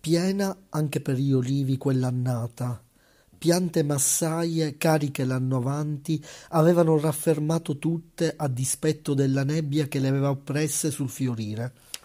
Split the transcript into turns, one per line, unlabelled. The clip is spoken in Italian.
Piena anche per gli olivi quell'annata. Piante massaie, cariche l'anno avanti, avevano raffermato tutte a dispetto della nebbia che le aveva oppresse sul fiorire.